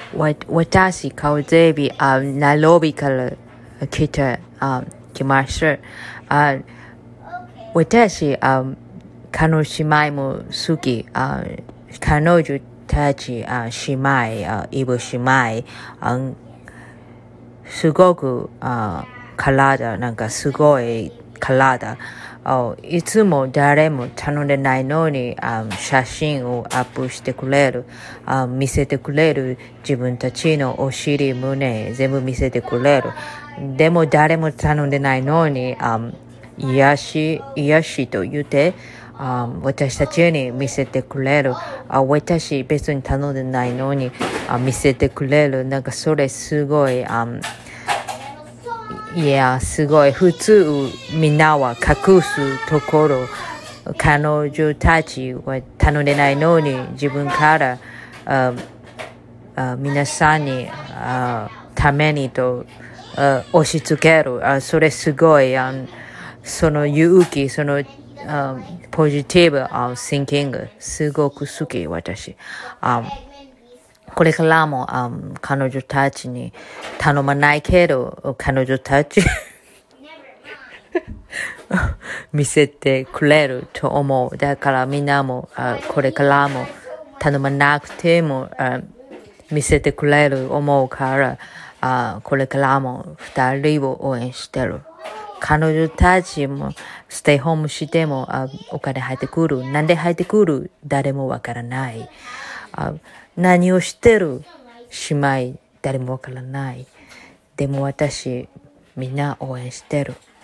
私、カウゼビ、ナイロビから来ました。私、彼女姉妹も好き。彼女たち、姉妹、イブ姉妹、すごく、体、なんかすごい体。いつも誰も頼んでないのに、写真をアップしてくれる、見せてくれる、自分たちのお尻、胸、全部見せてくれる。でも誰も頼んでないのに、癒しと言って、私たちに見せてくれる。私別に頼んでないのに、見せてくれる。なんかそれすごい、すごい。普通、みんなは隠すところ、彼女たちは頼んでないのに、自分から、皆さんに、ためにと、押し付ける。それすごい、その勇気、その、ポジティブ、thinking、すごく好き、私。これからも、彼女たちに頼まないけど、彼女たち見せてくれると思う。だからみんなも、これからも頼まなくても、見せてくれる思うから、これからも二人を応援してる。彼女たちもステイホームしても、お金入ってくる。なんで入ってくる誰もわからない。何をしてる姉妹誰もわからない。でも私みんな応援してる。